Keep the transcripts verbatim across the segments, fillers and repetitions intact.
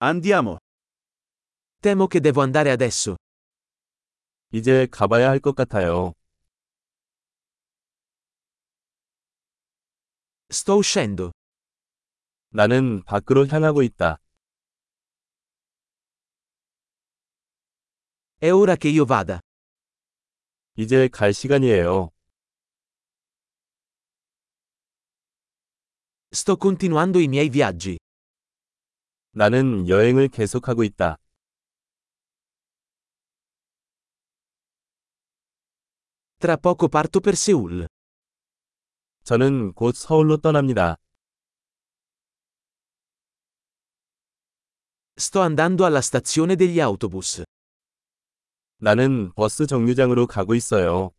Andiamo. Temo che devo andare adesso. 이제 가봐야 할 것 같아요. Sto uscendo. 나는 밖으로 향하고 있다. È ora che io vada. 이제 갈 시간이에요. Sto continuando i miei viaggi. 나는 여행을 계속하고 있다. Tra poco parto per Seoul. 저는 곧 서울로 떠납니다. Sto andando alla stazione degli autobus. 나는 버스 정류장으로 가고 있어요.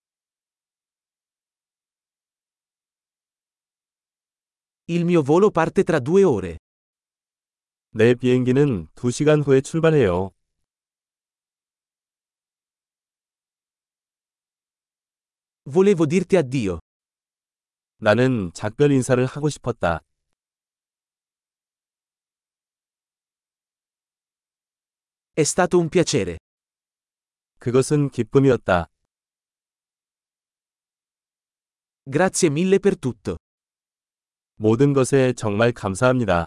Il mio volo parte tra due ore. 내 비행기는 두 시간 후에 출발해요. Volevo dirti addio. 나는 작별 인사를 하고 싶었다. È stato un piacere. 그것은 기쁨이었다. Grazie mille per tutto. 모든 것에 정말 감사합니다.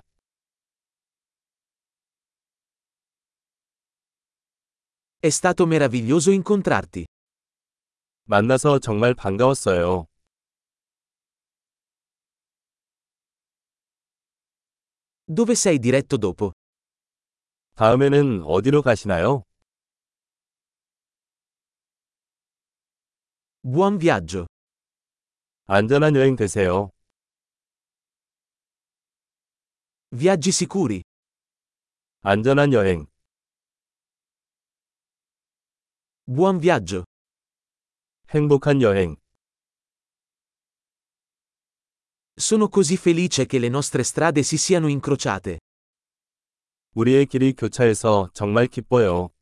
È stato meraviglioso incontrarti. 만나서 정말 반가웠어요. Dove sei diretto dopo? 다음에는 어디로 가시나요? Buon viaggio. 안전한 여행 되세요. Viaggi sicuri. 안전한 여행. Buon viaggio. 행복한 여행. Sono così felice che le nostre strade si siano incrociate. 우리의 길이 교차해서 정말 기뻐요.